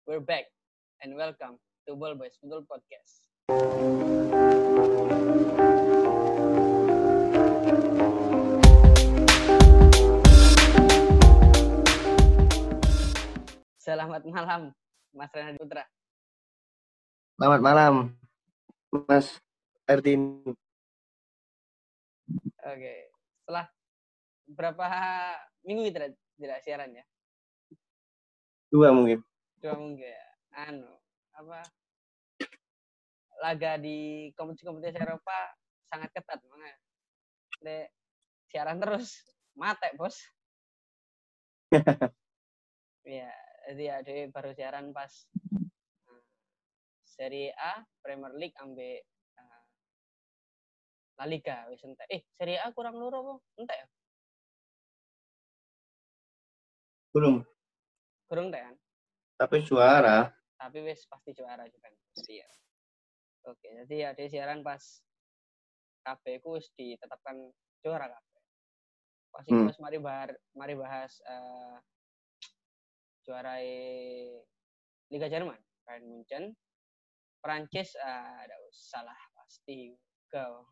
we're back and welcome to Ball Boys Football Podcast. Selamat malam, Mas Renhard Putra. Selamat malam, Mas Erdin. Oke, setelah berapa minggu kita tidak siaran ya? 2 mungkin. 2 minggu ya. Laga di kompetisi Eropa sangat ketat, makanya siaran terus mate bos. Ya, jadi ada baru siaran pas Serie A, Premier League ambil La Liga wis entek. Serie A kurang loro apa? Entek ya? Belum. Kurang entek kan? Tapi juara. Tapi wis pasti juara Juventus. Iya. Oke, jadi ada siaran pas KB ku wis ditetapkan juara KB. Pas itu wis mari bahas juara Liga Jerman, Bayern Munchen. Prancis ada salah pasti go.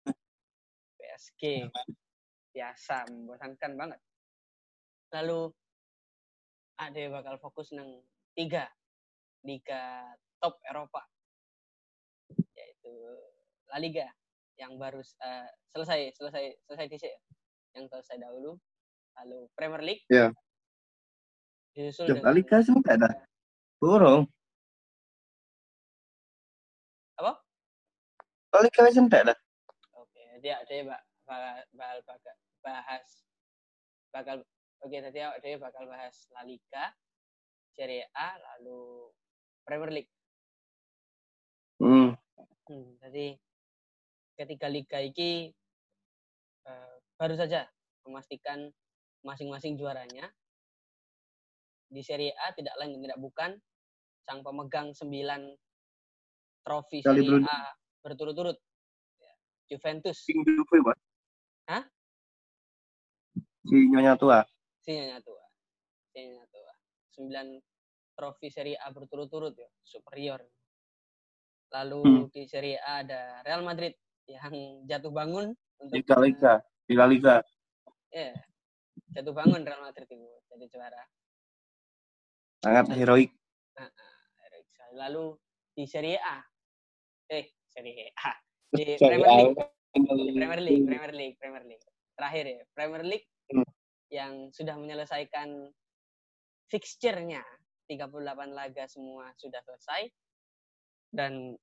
PSG biasa membosankan banget. Lalu ada bakal fokus nang 3 liga top Eropa, yaitu La Liga yang baru selesai dhisik, yang selesai dahulu. Lalu Premier League. Ya. Disusul dengan La Liga sampai dah. Burung. apa? La Liga sampai dah. Oke, jadi ada bakal bahas La Liga, Serie A, lalu Premier League. Jadi ketiga liga ini baru saja memastikan masing-masing juaranya. Di Serie A tidak lain dan tidak bukan sang pemegang 9 trofi Serie A berturut-turut, ya, Juventus. Hah? Si Nyonya Tua. 9 trofi Serie A berturut-turut ya, superior. Lalu di Serie A ada Real Madrid yang jatuh bangun untuk di La Liga. Ya, jatuh bangun Real Madrid itu jadi juara. Sangat heroik. Lalu di Serie A. Di Premier League. Terakhir ya, Premier League yang sudah menyelesaikan fixture-nya. 38 laga semua sudah selesai. Dan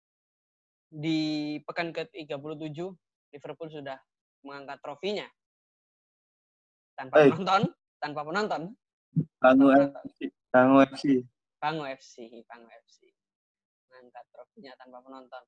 di pekan ke-37 Liverpool sudah mengangkat trofinya. Tanpa penonton. Bangu FC. Mengangkat trofinya tanpa penonton.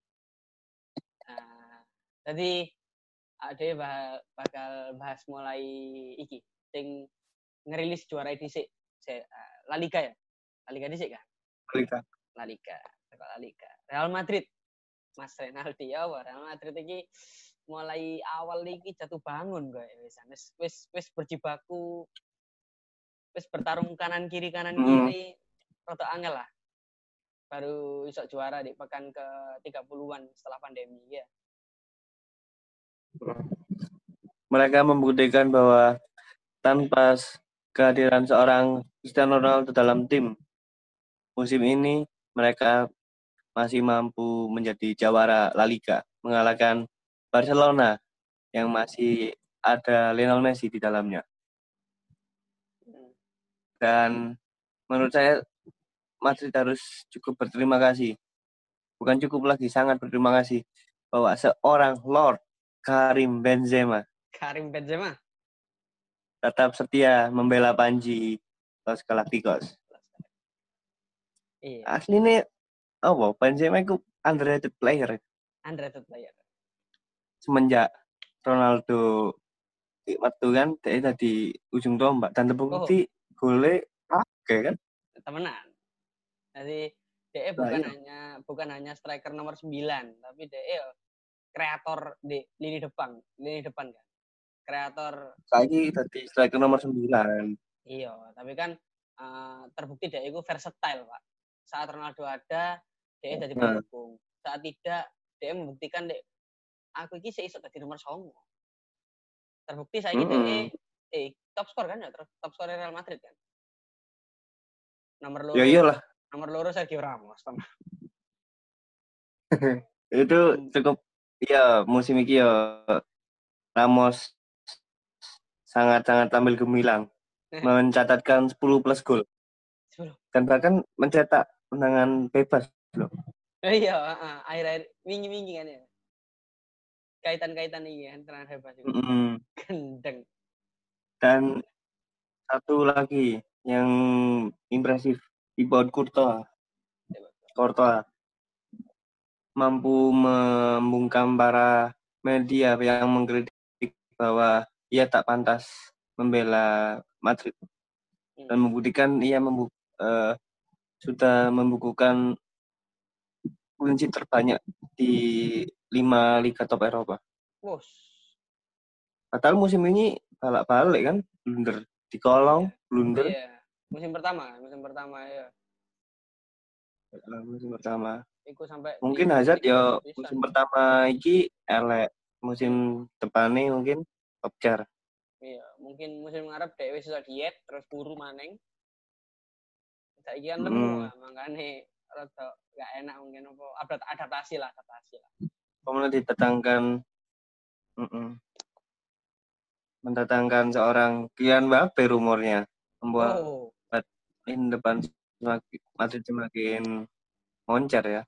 Jadi ada bakal bahas mulai iki sing ngerilis juara dhisik La Liga ya. La Liga dhisik kan? La Liga. Real Madrid. Mas Renaldi ya, Real Madrid iki mulai awal iki jatuh bangun gue wis berjibaku, wis bertarung kanan kiri rada angel lah. Baru iso juara di pekan ke-30-an setelah pandemi ya. Mereka membuktikan bahwa tanpa kehadiran seorang Cristiano Ronaldo dalam tim musim ini, mereka masih mampu menjadi jawara La Liga, mengalahkan Barcelona yang masih ada Lionel Messi di dalamnya. Dan menurut saya Madrid harus cukup berterima kasih. Bukan cukup lagi, sangat berterima kasih bahwa seorang Lord Karim Benzema tetap setia membela Panji Los Galacticos. Iya. Aslinya Benzema itu underrated player. Semenjak Ronaldo waktu kan dia tadi ujung tombak dan terbukti gole kan? Temenan. Jadi DE bukan hanya striker nomor 9, tapi DE kreator di lini depan kan. Kreator. Saiki tadi striker nomor 9. Iya, tapi kan terbukti DE itu versatile, Pak. saat Ronaldo ada, dia jadi pendukung. Saat tidak, dia membuktikan dek aku iki iso dadi nomor 9. Terbukti saiki dia top skor kan ya, top skor Real Madrid kan. Nomor loro. Ya iyalah. Nomor loro Sergio Ramos. Itu cukup ya musim ini ya Ramos sangat-sangat tampil gemilang. Mencatatkan 10 plus gol. 10. Dan bahkan mencetak tendangan bebas loh. Iya, akhir-akhir wingi-wingi kan ya. Kaitan-kaitan ini kan tendangan bebas itu. Gendeng. Dan satu lagi yang impresif, Thibaut Courtois mampu membungkam para media yang mengkritik bahwa ia tak pantas membela Madrid dan membuktikan ia sudah membukukan kunci terbanyak di 5 liga top Eropa. Padahal musim ini balik kan, blunder di kolong, blunder. Iya, musim pertama ya. Musim pertama. Iku sampai mungkin Hazard ya musim pertama iki elek, musim depannya mungkin top jar. Iya, mungkin musim ngarep dhewe iso diet terus turu maneng. Saiki kan lemu makane rada gak enak mungkin apa adaptasi lah. Kemudian mendatangkan seorang Kylian Mbappe rumornya membuat depan Madrid semakin moncer ya.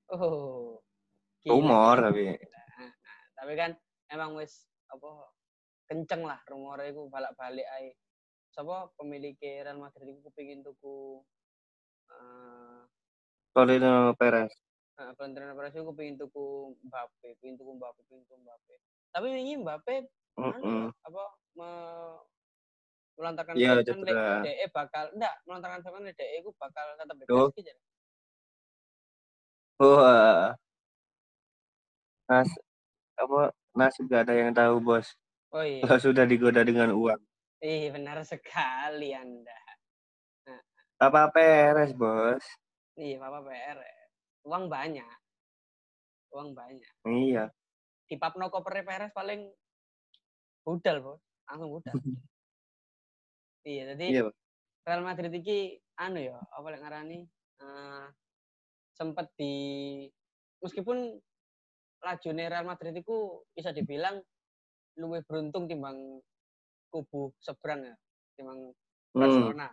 Rumor tapi kan emang wis kenceng lah rumornya iku balik ae. Sapa pemilik Real Madrid iku kepengin tuku Florentino Perez. Florentino Perez iku kepengin tuku Mbappe. Tapi wingi Mbappe melontarkan statement DE bakal melontarkan statement DE iku bakal tetap di PSG jadi. Nasib gak ada yang tahu, Bos. Oh iya. Sudah digoda dengan uang. Benar sekali Anda. Papa Perez, Bos. Iya, Papa Perez. Uang banyak. Iya. Di Papno koper Perez paling budal, Bos. Langsung budal. Iya, jadi Real Madrid iki ya, apa lek ngarani sempat meskipun lajune Real Madrid iku bisa dibilang luwih beruntung timbang kubu seberang ya, timbang Barcelona.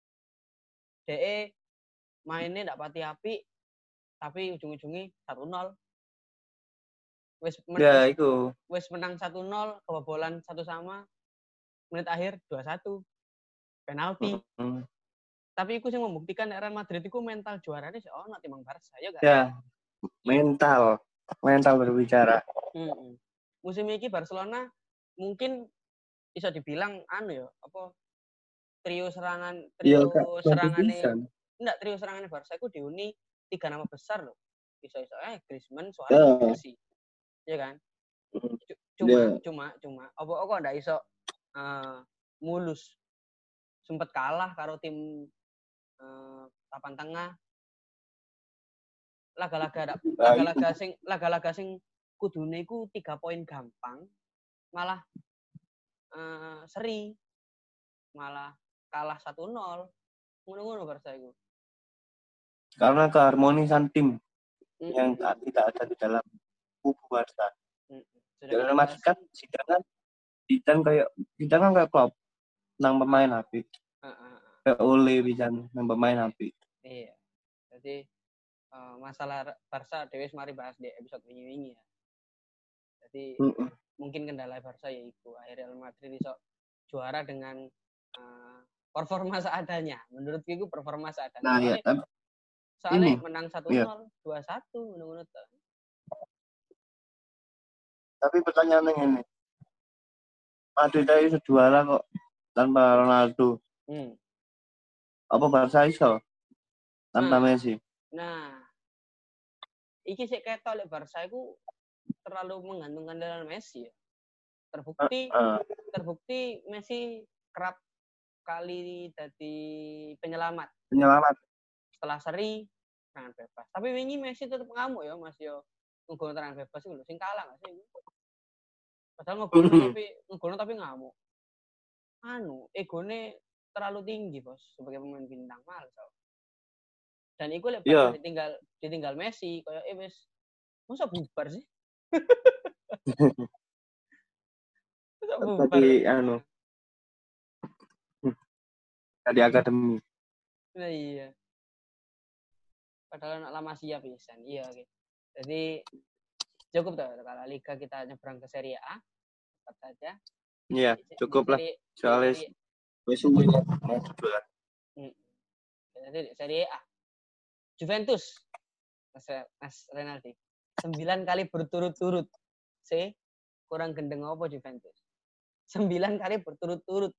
DE mainnya ndak pati api, tapi ujung-ujungnya 1-0. Wis menang 1-0, kebobolan 1-1, menit akhir 2-1. Penalti. Tapi iku sing membuktikan Real Madrid iku mental juarane sih ono timbang Barca ya gak? Ya. Mental berbicara. Musim ini Barcelona mungkin bisa dibilang trio serangannya Barca itu dihuni 3 nama besar loh. Bisa-bisa Griezmann, Suarez, Messi. Ya kan? Cuma apa ndak iso mulus. Sempet kalah karo tim papan tengah. Laga-laga sing kudune iku 3 poin gampang. Malah seri. Malah kalah 1-0. Ngono-ngono Barca iku. Karena keharmonisan tim yang tidak ada di dalam kubu Barca. Dalam masikan Zidane kayak Klopp nang pemain apik. Kayak Ole bisa nang pemain apik. Iya. Jadi masalah Barca dhewe mari bahas di episode wingi-wingi ya. Jadi mungkin kendala Barca yaitu akhirnya Real Madrid iso juara dengan performa seadanya. Menurutku itu performa seadanya. Soalnya menang 1-0, 2-1 ngono-ngono to. Tapi pertanyaannya ini. Madrid iso juara kok tanpa Ronaldo. Apa Barca iso tanpa Messi? Nah, iki sik ketok lek Barca iku terlalu menggantungkan dengan Messi ya. Terbukti Messi kerap kali jadi penyelamat. setelah seri serangan bebas. Tapi wingi Messi tetap ngamuk ya, Mas yo. Ngegolno serangan bebas iku lho sing kalah gak sih? Padahal ngegolno tapi ngamuk. Egone terlalu tinggi, Bos, sebagai pemain bintang males. Dan iku lek ditinggal Messi koyo wis masa bubar sih. Masa bubar. Tadi tadi akademi. Nah, iya. Padahal lama siap pisan. Iya, oke. Jadi cukup tuh kalau Liga kita nyebrang ke Serie A. Cepat saja. Iya, cukup lah. Soalnya wis suwe mau juara. Jadi Serie A. Juventus. Mas Renaldi. 9 kali berturut-turut. Kurang gendeng apa Juventus? 9 kali berturut-turut.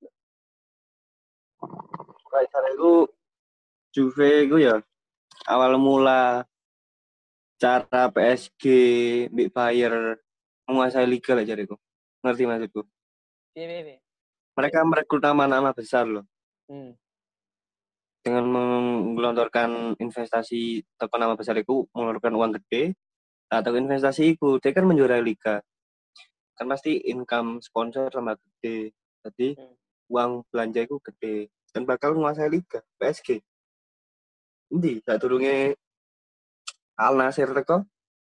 Kayak itu Juve itu ya awal mula cara PSG Big Fire menguasai liga lah jariku. Ngerti maksudku? Iya. Mereka merekrut nama-nama besar loh. Dengan menggelontorkan investasi atau nama besar itu mengeluarkan uang gede atau investasi itu dia kan menjuarai liga. Kan pasti income sponsor sama gede. Jadi uang belanja itu gede dan bakal menguasai liga PSG. Endi sak durunge Al Nassr teko?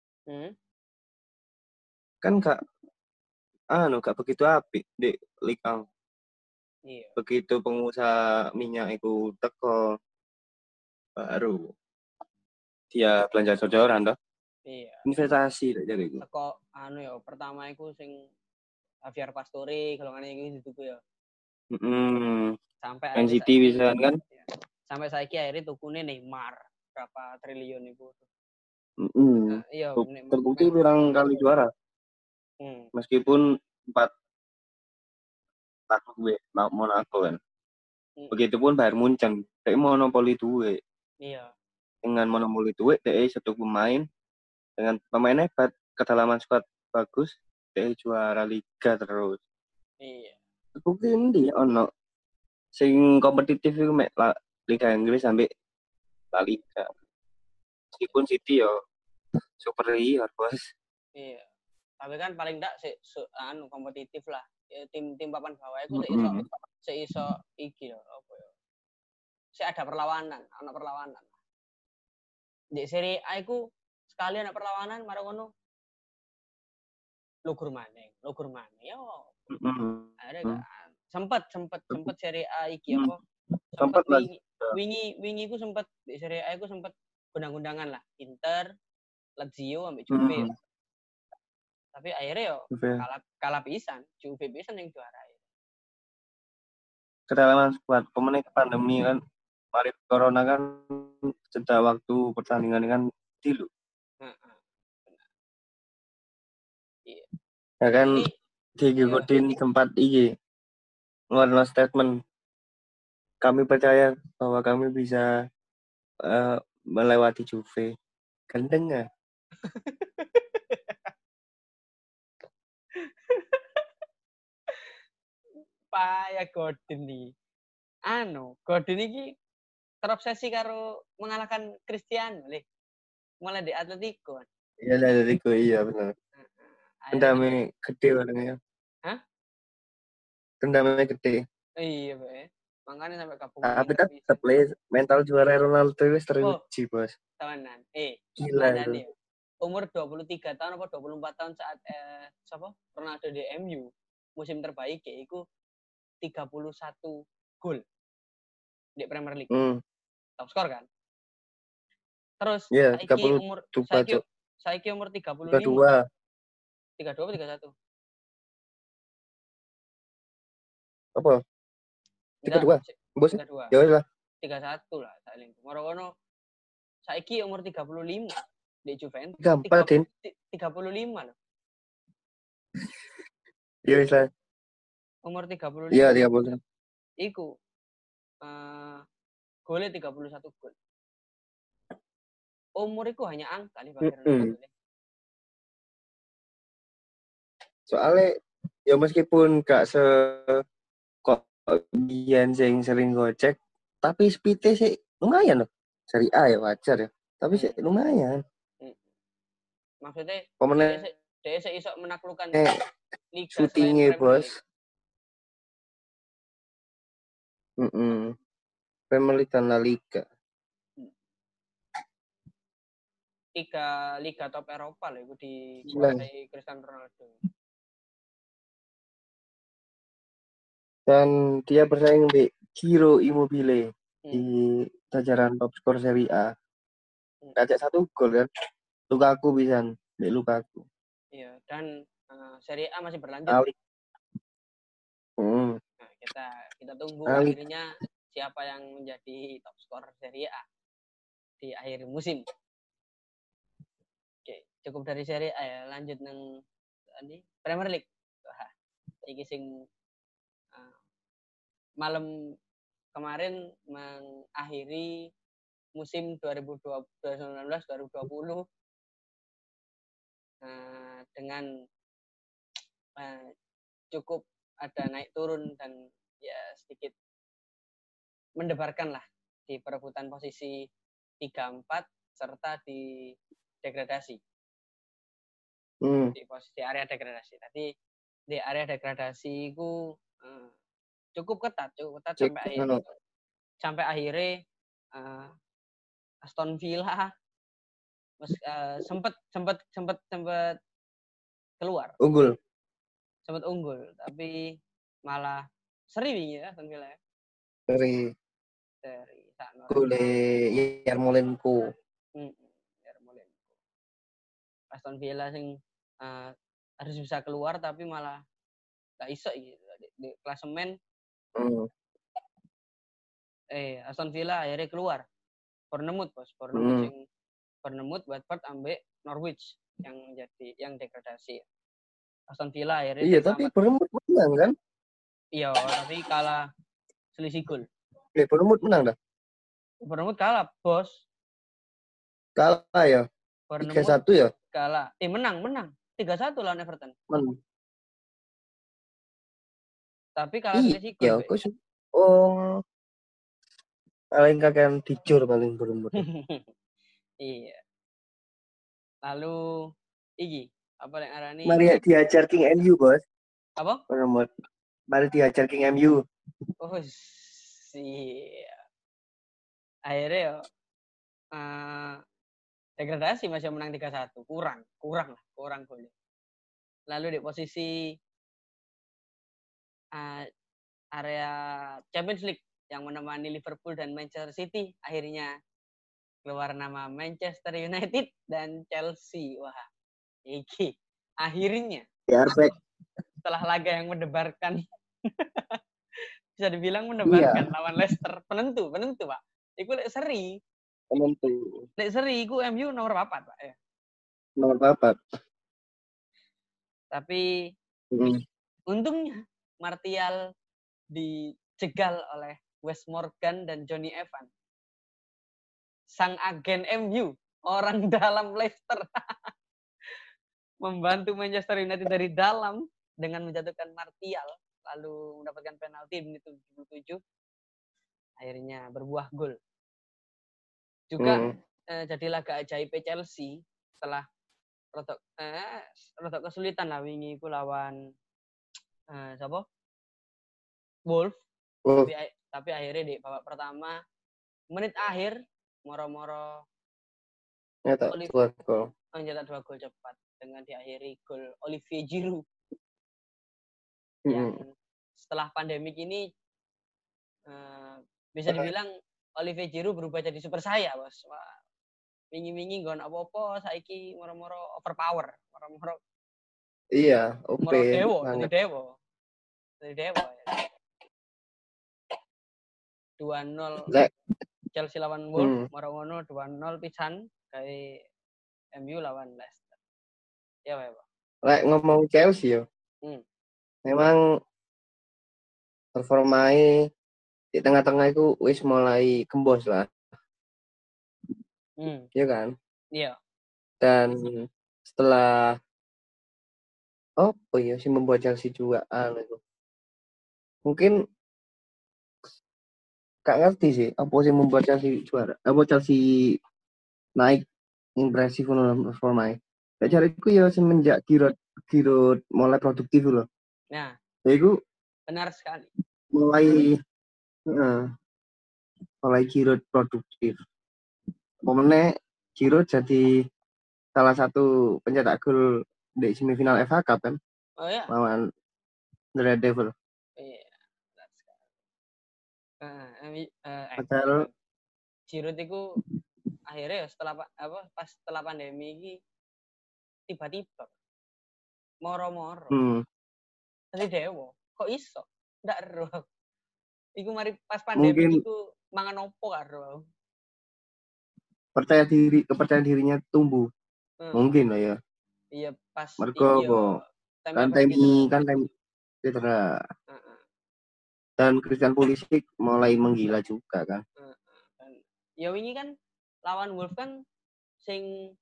Kan gak begitu apik di liga. Iya. Begitu pengusaha minyak itu teko baru dia belanja sojoran toh. Iya. Investasi jadi iku. Teko ya pertama iku sing Javier Pastore golongane iki dituku ya. Sampai NCT bisa kan? Ya. Sampai saiki akhirnya tukune Neymar berapa triliun itu. Iya, terbukti pirang kali juara. Meskipun 4 gue Monaco kan. Begitupun Bayern Munchen, dia monopoli duit. Iya. Dengan monopoli duit, dia satu pemain dengan pemain hebat, kedalaman squad bagus, dia juara liga terus. Iya. Terbukti ini ono sing kompetitif itu Liga Inggris sampai La Liga. Meskipun City yo superior bos. Iya. Tapi kan paling enggak kompetitif lah. Tim papan bawah itu seiso iki lho apa ya. Ada perlawanan. Di Serie A iku sekali ana perlawanan marang ngono. Lugur maneh yo. Ada sempat Serie A iki apa? Sempat wingi iku sempat di Serie A iku sempat undang-undangan lah. Inter, Lazio ambek Juve. Tapi akhirnya yo kalah pisan, Juve pisan yang juara. Kedalaman squad pemain pandemi kan, mari corona kan jeda waktu pertandingan kan tilu. Iya. Ya kan Diego Godin sempat ngeluarin statement. Kami percaya bahwa kami bisa melewati Juve. Gendeng ya. Paya Godin nih. Godin iki terobsesi karo mengalahkan Cristiano leh. Mulai di Atletico. Iya, Atletico iya benar. Dendamnya gede orangnya. Hah? Dendamnya gede. Iya, Pak. Makanya sampai kapung. Tapi kan mental juara Ronaldo wis teruji, Bos. Temenan. Gila itu. Umur 23 tahun apa 24 tahun saat Ronaldo di MU musim terbaik ya itu 31 gol di Premier League. Top skor kan? Terus saiki umur 35. 32 atau 31? Apa? 32. Bos. Ya wis lah. 31 lah saling. Moro-ono saiki umur 35 di Juventus. 35 loh. Ya wis lah. Umur 35. Iya, 30. Iku golnya 31 gol. Umur itu hanya angka nih Pak. Soalnya ya meskipun gak kok biyen sing sering gocek, tapi speed-nya sih lumayan loh. Seri A ya wajar ya. Tapi sih lumayan. Maksudnya Pemenang dia iso menaklukkan liga syutingnya selain Premier bos. League. Premier League dan La Liga. Liga top Eropa lah itu dikuasai Cristiano Ronaldo. Dan dia bersaing di Ciro Immobile di jajaran top skor Serie A. Ngajak 1 gol kan. Lukaku bisa di Lukaku. Iya, dan Serie A masih berlanjut. Nah, kita tunggu akhirnya siapa yang menjadi top skor Serie A di akhir musim. Oke, cukup dari Serie A ya. Lanjut nang Premier League. Wah, iki sing malam kemarin mengakhiri musim 2019-2020 dengan cukup ada naik turun dan ya sedikit mendebarkan lah di perebutan posisi 3-4 serta di degradasi. Di posisi area degradasi. Tadi di area degradasi itu cukup ketat sampai akhirnya Aston Villa sempat keluar. Sempat unggul, tapi malah seri wingi ya Aston Villa ya. Seri Gole Yarmolenko. Aston Villa sing harus bisa keluar tapi malah gak iso gitu di klasemen. Aston Villa akhirnya keluar. Bournemouth bos, Bournemouth, Watford ambek Norwich yang degradasi. Aston Villa akhirnya iya tapi Bournemouth menang kan? Iya, tapi kalah selisih gol. Bournemouth menang dah. Bournemouth kalah, bos. Kalah ya? 3-1 ya? Kalah. Menang. 3-1 lawan Everton. Tapi kalah selisih gol. Iya, paling kakek dicur paling Bournemouth. Iya. Lalu iki apa yang arani? Mari diajar King MU, bos. Apa? Bournemouth. Mari diajar King MU. Oh, iya. Akhirnya degradasi masih menang 3-1. Kurang gol. Lalu di posisi area Champions League yang menemani Liverpool dan Manchester City akhirnya keluar nama Manchester United dan Chelsea. Wah, iki akhirnya setelah laga yang mendebarkan bisa dibilang mendebarkan lawan Leicester penentu Pak. Iku lek seri. Penentu. Lek seri iku MU nomor 4 Pak ya. Nomor 4. Tapi untungnya Martial dijegal oleh Wes Morgan dan Johnny Evans. Sang agen MU, orang dalam Leicester. Membantu Manchester United dari dalam dengan menjatuhkan Martial, lalu mendapatkan penalti di menit 77. Akhirnya berbuah gol. Juga jadi laga ajaib Chelsea setelah rodok kesulitan lah wingi iku lawan siapa? Wolf. Tapi akhirnya di babak pertama menit akhir moro-moro nyetak 2 gol. Mencetak 2 gol cepat dengan diakhiri gol Olivier Giroud. Yang setelah pandemik ini bisa dibilang Olivier Giroud berubah jadi super saya, bos. Wah, wingi-wingi nggon apa-apa saiki moro-moro overpower, moro-moro. Iya, OP. Moro dewo. Ya. 2-0 Chelsea lawan Wolves, moro ngono 2-0 pisan kayak MU lawan Leicester. Ya, Pak. Lek ngomong Chelsea yo. Memang performanya di tengah-tengah itu wis mulai kembos lah. Iya kan? Iya. Dan setelah sih membuat Chelsea juga itu. Mungkin Gak ngerti sih apa sih membuat Chelsea juara. Apa Chelsea naik impresif ngono performanya. Lek cariku ya semenjak Giroud Giroud mulai produktif loh. Nah, Ya iku benar sekali. mulai mulai Giroud produktif. Momennya Giroud jadi salah satu pencetak gol di semifinal FA Cup kan Oh ya. lawan The Red Devil. Iya, benar sekali. Padahal Giroud itu akhirnya ya pas setelah pandemi ini tiba-tiba moro-moro jadi dewo kok iso ndak ero iku mari pas pandemi mungkin iku mangan opo karo kepercayaan dirinya tumbuh. Mungkin lah ya. iya pas Mergo iki apa? yo pas Kan time cedera. Dan Christian Pulisic mulai menggila juga kan. ya wingi kan lawan Wolf kan sing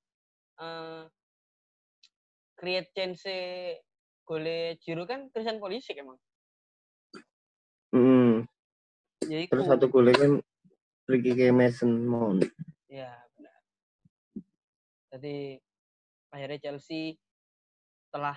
create chance gole Giroud kan Christian Pulisic emang. Yaiku. Terus satu golnya kan Ricky Mason Mount. Ya benar. Jadi akhirnya Chelsea setelah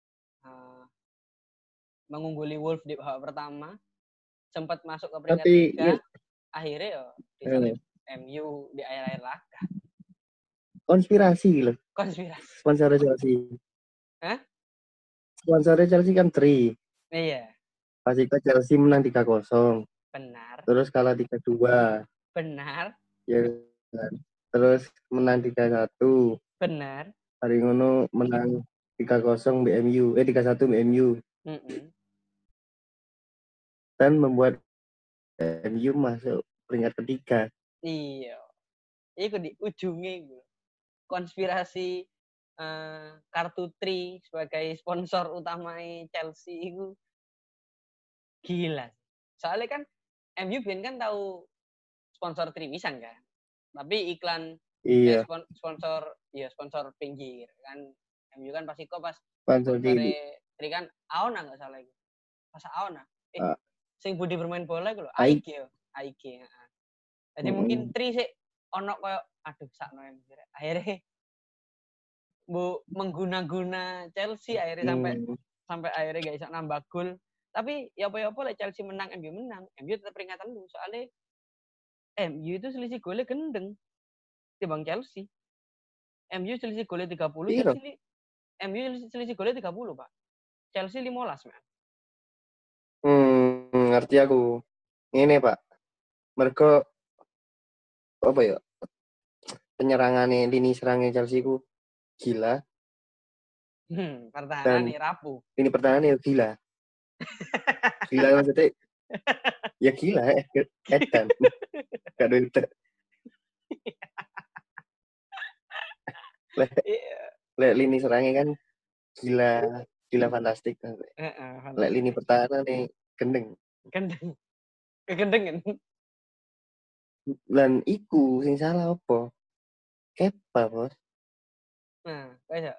mengungguli Wolf di babak pertama sempat masuk ke peringkat 3 ya. Akhirnya ya disalip MU di akhir-akhir laga. Konspirasi loh. Sponsor Chelsea. Hah? Sponsornya Chelsea kan Tri. Iya. Pas itu Chelsea menang 3-0. Benar. Terus kalah 3-2. Benar. Ya kan. Terus menang 3-1. Benar. Hari ngono menang 3-0 BMU. 3-1 BMU. Dan membuat MU masuk peringkat ketiga. Iya. Itu di ujungnya gue. Konspirasi kartu Tri sebagai sponsor utama Chelsea itu gila. Soalnya kan MU kan tahu sponsor Trimisan kan. Tapi iklan sponsor pinggir kan. MU kan pasti kok pas sponsor Tri kan Aona nggak salah itu. Pas Aona. Sing budi bermain bola itu loh. AIG. Jadi mungkin Tri sih ono koyo aduh sakno MU. Akhirnya mengguna-guna Chelsea akhirnya sampai akhirnya gak bisa nambah gol. Tapi ya apa-apa lah Chelsea menang, MU menang. MU tetap peringatan dulu soalnya MU itu selisih golnya gendeng dibanding Chelsea. MU selisih golnya 30, Chelsea MU selisih golnya 30, Pak. Chelsea 15, man. Ngerti aku. Ini, Pak. Mereka apa ya? Penyerangannya lini serangnya Chelsea ku gila. Pertahanannya rapuh. Ini pertahanannya gila. Gila maksudnya ya gila edan. Gak ada itu. Lek lini serangnya kan gila fantastik. Lek lini pertahanan nih gendeng. Kegendengan. Dan iku sing salah apa? Kepa, Bos. Nah, bisa.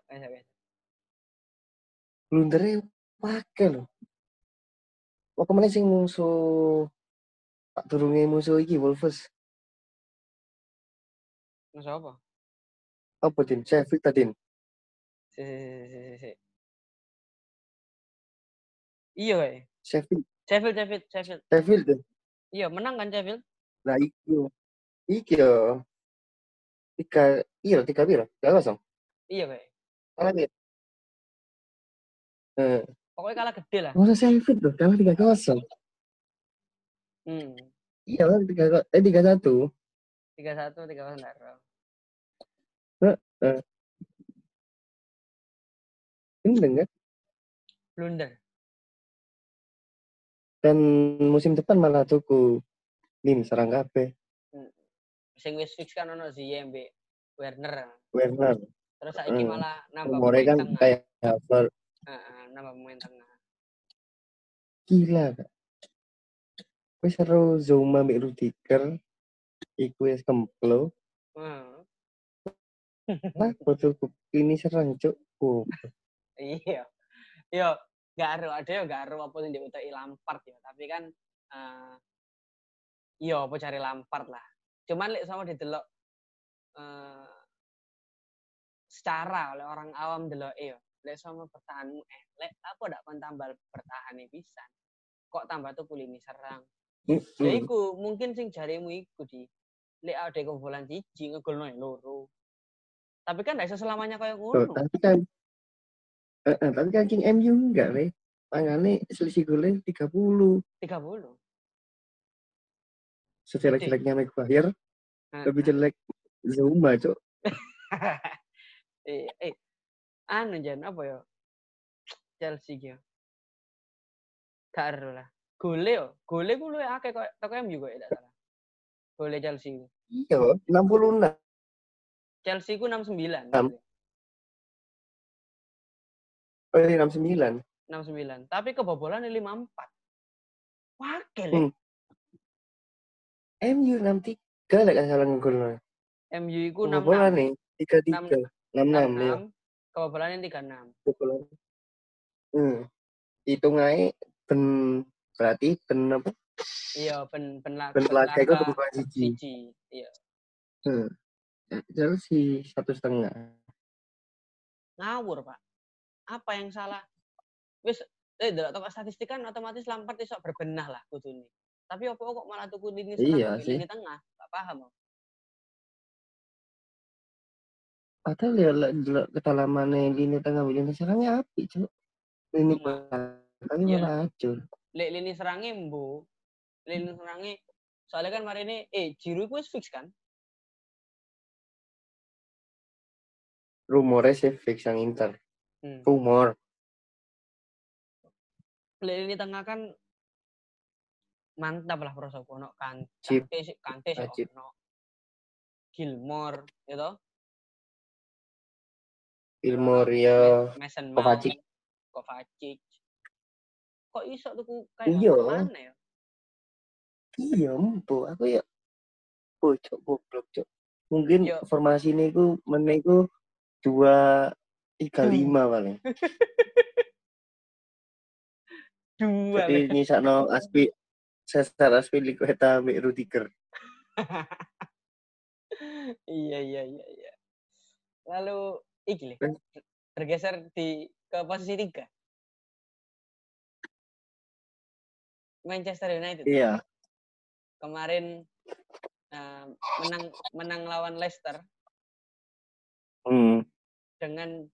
Blundere pakai loh. Kok kemana sing musuh tak turunnya musuh iki Wolves? Musuh apa? Apa Din? Sheffield tadi. Si. Iya, kayak. Sheffield. Iya, menang kan Sheffield? Nah, iki yo. 3 biro. 3-0. Iya, kayak. Kalah ya. Pokoknya kalah gede lah. Masa Sheffield loh, kalah 3-0. Iya lah 3-1. 3-1 enggak. Gendeng kan? Blunder. Dan musim depan malah tuku lini serang kabeh. Sing wis fix kan ono Ziyech Werner. Terus saiki malah nambah pemain kan tengah. Kayak Havertz. Nambah pemain tengah. Gila Kak. Wis seru Zouma mbek Rudiger. Iku wis kemplo. Lah tuku ini serang cuk. Iya. Yo gak ada apa sing diutai Lampard ya, tapi kan Iya, apa cari Lampard lah. Cuman lek sama didelok secara oleh orang awam delok yo. Lek sama bertahanmu elek, apa ndak kon tambah bertahane pisan. Kok tambah tuh lini serang. Ya iku mungkin sing jarimu iku di lek ada kebobolan siji ngegolno loro. Tapi kan ndak iso selamanya kayak ngono. Tapi kan King MU enggak, Re. Makanya selisih golnya 30. 30. Sejelek-jeleknya Maguire, lebih jelek Zuma, Cok. Anu jan apa ya? Chelsea ki. Karo lah. Gole ku luwih akeh kok teko MU kok tidak salah. Gole Chelsea ku. Iya, 66. Chelsea ku 69. Oh, 69. 69. Tapi kebobolan 54. Wakil. MU 63 lek salah ngegolno. MU iku 66. Kebobolan nih 33. 66 ya. Kebobolannya 36. Kebobolan. Hitung ae berarti apa? Iya, ben laga iku kebobolan siji. Iya. Chelsea 1,5. Ngawur, Pak. Apa yang salah? Wis delok toko statistik kan otomatis Lampard iso berbenah lah kudune. Tapi opo kok malah tuku lini serang lini tengah? Gak paham. Padahal ya delok kedalamane lini tengah lini serangnya apik, Cuk. Lini tapi malah hancur. Lek lini serangnya mbo. Lini serangnya soalnya kan hari ini Giroud wis fix kan? Rumornya sih fix yang Inter. Rumor. Lini tengah kan mantap lah prosoku ono Kante ono Gilmore gitu. Gilmore ya Mason Kovacic. Kok iso tuku kayak mana ya? Iya, mpo aku ya bocok goblok, Cok. Mungkin formasi ini ku meneh ku 2-3-5 paling. Jadi nyisakno Cesar Azpilicueta ambek Rudiger. Iya. Lalu iki bergeser ke posisi 3. Manchester United. Iya. Kemarin menang lawan Leicester. Dengan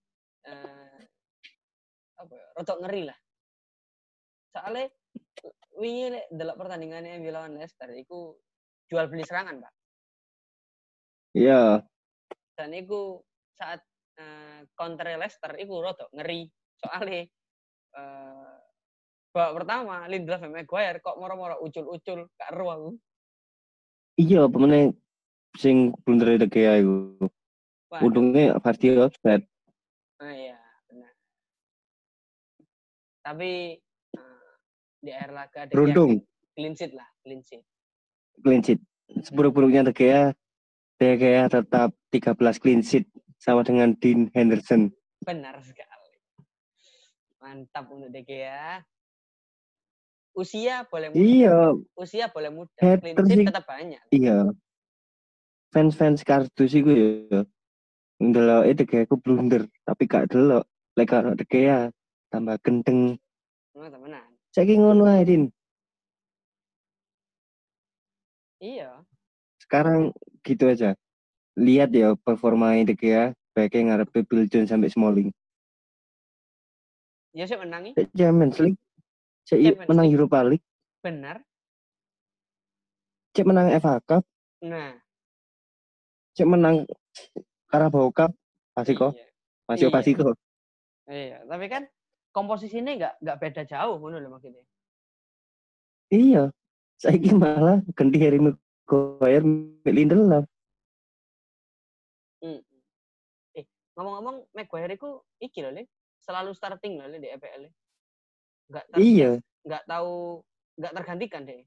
rotok ngeri lah. Soalnya wingi delok pertandingannya MU lawan Leicester iku jual beli serangan, Pak. Iya. Dan iku saat counter Leicester iku rotok ngeri. Soalnya babak pertama Lindelof sama Maguire kok moro-moro ucul-ucul gak ero aku. Iya, pemene sing blunder De Gea iku. Untungnya pasti offset. Iya, benar. Tapi di akhir laga De Gea clean sheet. Seburuk-buruknya De Gea tetap 13 clean sheet sama dengan Dean Henderson. Benar sekali. Mantap untuk De Gea. Usia boleh muda. Iya. Usia boleh muda. Clean sheet tetap banyak. Iya. Fans kardus iku ya. Ndelok De Gea ku blunder, tapi gak delok. Lek karo De Gea tambah gendeng. Temenan. Saiki ngono ae, Din. Iya. Sekarang gitu aja. Lihat ya performa De Gea baiknya ngarepe Bill Jones sampai Smalling. Ya sih menangi. Champions League. Cek menang Europa League. Benar. Cek menang FA Cup. Nah. Cek menang Carabao Cup. Pasti kok. Iya, tapi kan komposisinya nggak beda jauh ngono lho maksudnya. Iya. Saiki malah ganti Harry Maguire Lindelof. Ngomong-ngomong Maguire itu iki lho, selalu starting lho di EPL. Enggak tahu enggak tergantikan deh.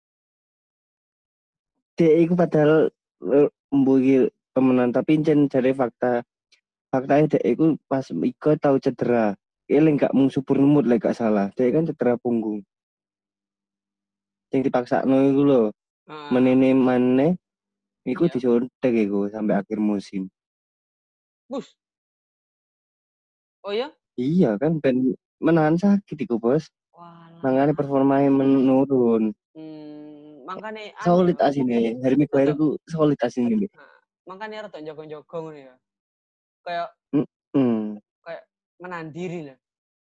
Dia iku padahal mbuki pemenang tapi encen jare faktanya dia iku pas iku tahu cedera. Eling gak mung supur nemut lek gak salah. Dia kan cedera punggung. Sing dipaksa iku lho. menini maneh iku Iya. disuntik iku sampai akhir musim. Bus. Oh ya? Iya kan ben menahan sakit iku, Bos. Makanya Walah. performanya menurun. Makanya anu ya. Solid asine. Harry Maguire Rada, ku solid asine. makanya rada jago-jago ngono ya. Kayak Heeh. kayak menahan diri lah.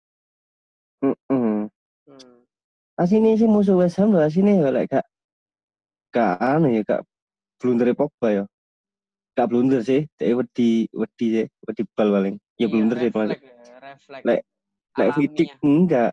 Heeh. Hmm. Asine sih musuh West Ham lho asine ya lek gak anu ya gak blunder Pogba ya. Gak blunder sih, dia wedi sih, wedi bal paling. Ya Iya, blunder sih termasuk. refleks ya, refleks Lek Vidic alamiah. enggak,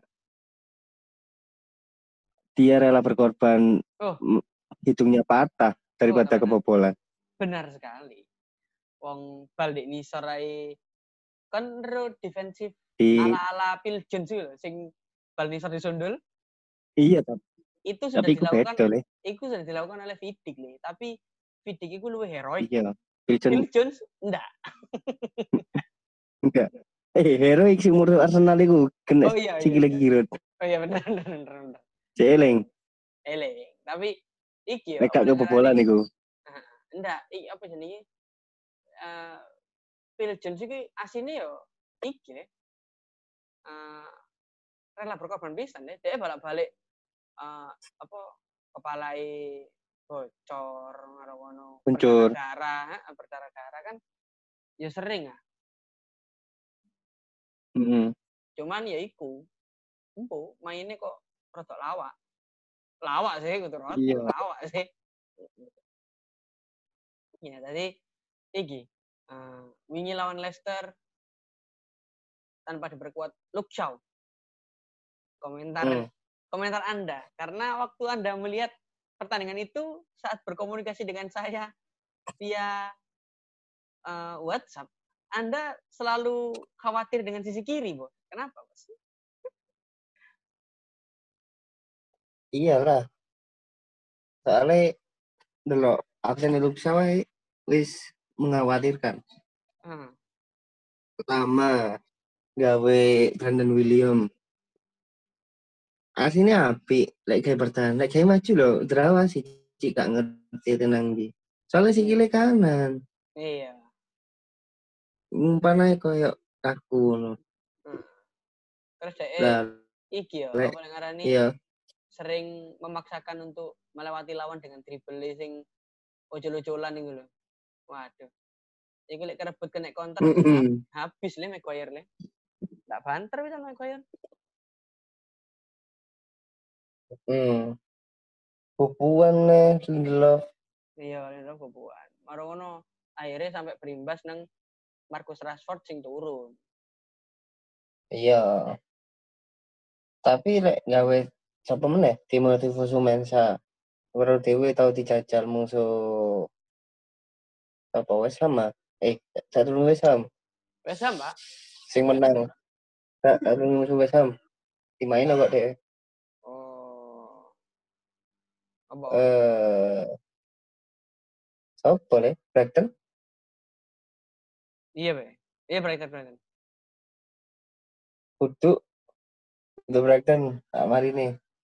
dia rela berkorban Oh, hidungnya patah daripada teman-teman. kebobolan. Benar sekali. Wong bal di nisor ae kan defensif Di ala-ala Phil Jones sih sing bal nisor disundul. iya Itu sudah tapi iku dilakukan beda le. oleh Vidic nih, tapi Vidic itu lebih heroik. Iya. Pilsen Phil Jones enggak. enggak. Heroik sing murid Arsenal iku kena Oh iya iya sikile iya. kirut. Oh iya benar benar benar. Benar. Celeng. Tapi iki ya Lek apa gak ngarani? kebobolan iku. Enggak, apa jenenge? Eh Phil Jones iki asine yo iki uh, rela berkorban pisan deh. Dia balik-balik apa kepalai bocor ngono Muncul. berdarah darah kan ya sering ah. Cuman ya iku empu mainnya kok rotok lawak sih gitu rotok Iya. lawak sih ya tadi iki wingi lawan Leicester tanpa diperkuat Luke Shaw komentar Anda karena waktu Anda melihat pertandingan itu saat berkomunikasi dengan saya via WhatsApp Anda selalu khawatir dengan sisi kiri, Bos. Kenapa, Bos? Iyalah. Soalnya delok absen Luxa wae wis mengkhawatirkan. Pertama gawe Brandon William. Aslinya api, lek kayak bertahan, lek kayak maju loh, derawa sih, cik gak ngerti tenang di. Soalnya si kiri kanan, Iya. umpan aja koyok kaku loh. Terus Lah, iki ya, lek apa ngarani iya. sering memaksakan untuk melewati lawan dengan dribble sing ojol-ojolan iku lho. Waduh. Iki lek kerebut kena counter habis le Maguire le. Tak banter bisa Maguire. Pupuan nih, Lindelof. Iya, Lindelof pupuan. Maro ngono akhirnya sampai berimbas nang Marcus Rashford sing turun. Iya. Tapi lek gawe sapa meneh Timothy Fosu-Mensah. Baru dewe tau dijajal musuh apa West Ham ah? Satu West Ham. West Ham, Pak. Sing menang. Satu musuh West Ham. Dimain kok deh. Oh. Apa? Siapa le? Brighton? Iya, Be. Iya, Brighton. Kudu Brighton. Tak mari nih.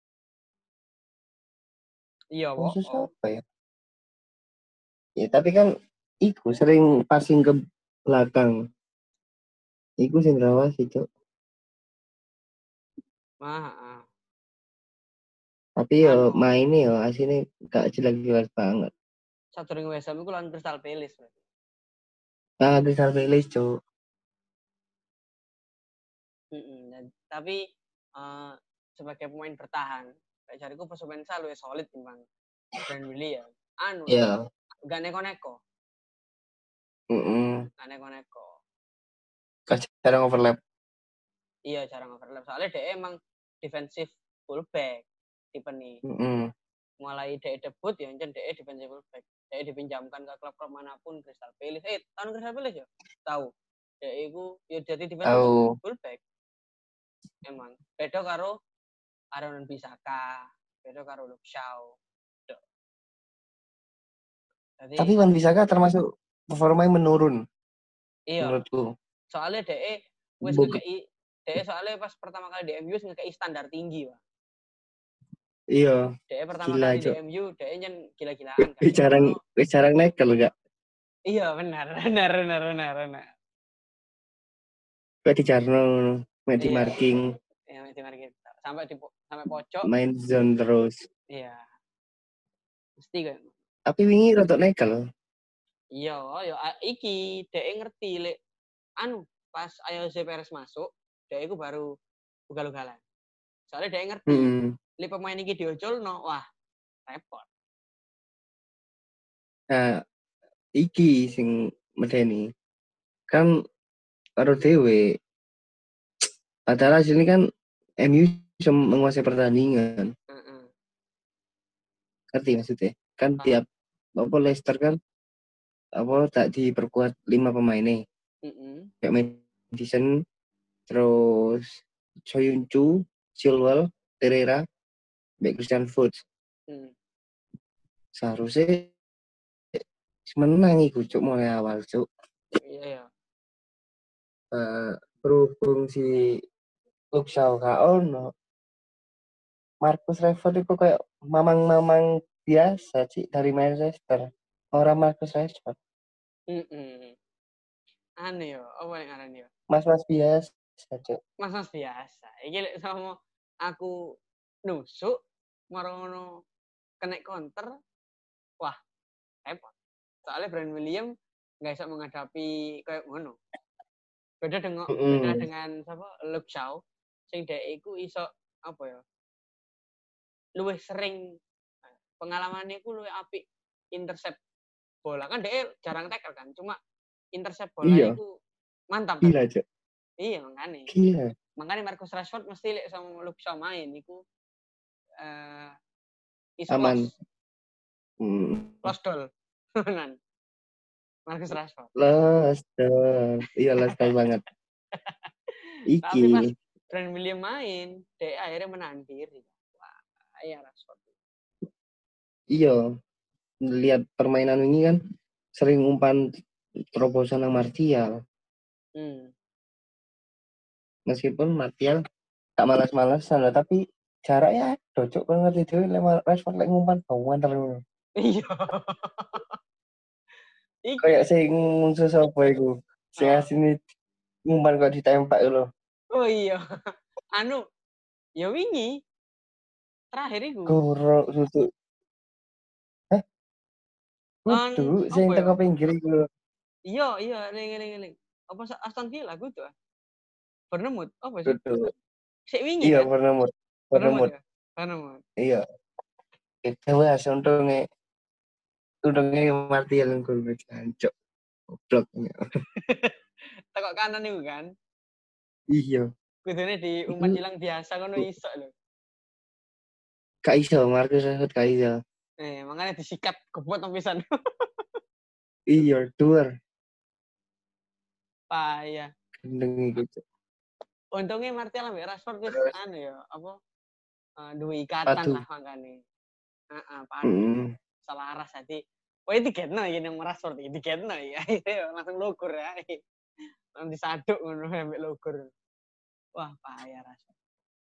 Iya, Musuh siapa ya? Ya tapi kan iku sering passing ke belakang. Iku sing rawas itu. Tapi yo mainnya yo asine gak jelas-jelas banget. Satu ring West Ham iku lawan Crystal Palace berarti. Crystal Palace, Cuk. Tapi sebagai pemain bertahan, kayak cariku pemain luwih solid timbang Brand William. Iya. Gak neko-neko. Gak neko-neko. Jarang overlap. Iya, jarang overlap. Soalnya dia emang defensif fullback tipe nih. Mulai dia debut ya dia defensif fullback. Dia dipinjamkan ke klub manapun Crystal Palace. Tahun Crystal Palace ya? Tahu. Dia itu ya jadi defensif fullback. Emang beda karo Aaron Bisaka, beda karo Luke Shaw. Tapi Wan Bisaka termasuk performanya menurun. Iya. Menurutku. Soalnya DE soalnya pas pertama kali di MU ngekei standar tinggi, Pak. Iya. Dia pertama Gila, kali di Cok. MU, dia nyen gila-gilaan kan. Jarang nekel gak? Iya benar, benar. Kayak di Jarno, main di Iya, marking, iya di market. Sampai pojok. main zone terus. Iya. Mesti kan. Tapi wingi rotok nekel. Iya, ya iki dhek ngerti lek anu pas Jose Perez masuk, dhek iku baru ugal-ugalan. Soalnya dhek ngerti lek pemain iki diocolno, wah repot. Nah, iki sing medeni. Kan karo dhewe padahal hasilnya kan MU bisa menguasai pertandingan. Ngerti maksudnya? Kan tiap apa Leicester kan apa tak diperkuat 5 pemain nih. Kayak Madison, terus Soyuncu, Chilwell, Pereira, back Christian Fuchs. Seharusnya menang iku cuk mulai awal cuk. Iya. Berhubung si Luke Shaw ono Marcus Rashford itu kayak mamang-mamang biasa sih dari Manchester. Orang Marcus Rashford. Aneh yo, apa yang aneh yo? Mas-mas biasa cuk. Mas biasa. Iki lek sama aku nusuk marono kena counter, wah repot. Soalnya Brand William nggak bisa menghadapi kayak ngono. Beda dengan siapa? Luke Shaw sing dhek iku iso apa ya? Luwih sering pengalamannya iku luwih apik intercept bola. Kan dhek jarang tackle kan, cuma intercept bola iku mantap kan. Gila, Cok. Iya, makanya. Gila. Makanya Marcus Rashford mesti lek sama Luke Shaw main iku iso aman. Lost doll. Nan. Marcus Rashford. Lost doll. Iya, lost doll banget. Iki. Tapi pas Brand William main, dia akhirnya menang diri. Wah, ya Rashford. Iya. Lihat permainan ini kan sering umpan terobosan yang Martial. Meskipun Martial tak malas-malasan lah, tapi jaraknya cocok banget itu lewat Rashford lek ngumpan bauan terus. Iya. Kayak sing musuh sapa iku. Sing asine ngumpan kok ditembak lho. Oh iya. Anu, ya wingi terakhir iku. Goro susu. Kudu sing teko pinggir iku. Iya, ning. Apa Aston Villa kudu? Bournemouth, apa sih? Kudu. Sik wingi Iya, kan? Bournemouth. Iya. Itu wes untungnya Martial gol jancuk. Goblok. Tekok kanan iku kan? Iya. Kudune di umpan hilang biasa ngono iso lho. Gak iso, Marcus Rashford gak iso. Makanya disikat kebot pisan. Iya, duar. Payah. Gendeng gitu. Untungnya Martial ambek Rashford wis anu ya, apa? Duwe ikatan lah makane. Padu. Selaras hati. Wah, itu ketno iki nang Rashford iki ketno ya. Langsung lugur ya. Langsung disaduk ngono ambek lugur. Wah, payah Rashford.